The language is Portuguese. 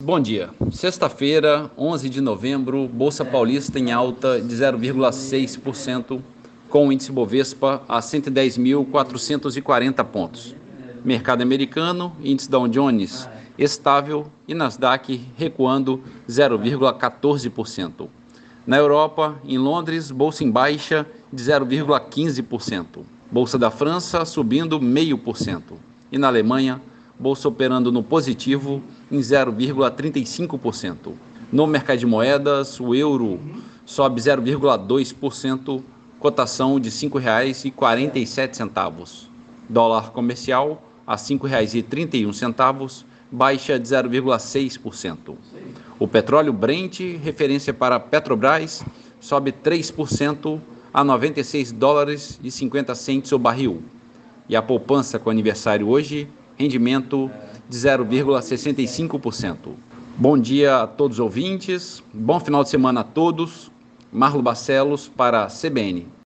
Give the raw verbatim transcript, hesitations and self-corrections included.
Bom dia. Sexta-feira, onze de novembro, Bolsa Paulista em alta de zero vírgula seis por cento, com o índice Bovespa a cento e dez mil quatrocentos e quarenta pontos. Mercado americano, índice Dow Jones estável e Nasdaq recuando zero vírgula quatorze por cento. Na Europa, em Londres, bolsa em baixa de zero vírgula quinze por cento. Bolsa da França subindo zero vírgula cinco por cento. E na Alemanha, bolsa operando no positivo em zero vírgula trinta e cinco por cento. No mercado de moedas, o euro sobe zero vírgula dois por cento, cotação de cinco reais e quarenta e sete centavos. Dólar comercial a cinco reais e trinta e um centavos, baixa de zero vírgula seis por cento. O petróleo Brent, referência para Petrobras, sobe três por cento a noventa e seis dólares e cinquenta centavos o barril. E a poupança com aniversário hoje, rendimento de zero vírgula sessenta e cinco por cento. Bom dia a todos os ouvintes, bom final de semana a todos. Marlo Barcelos para a C B N.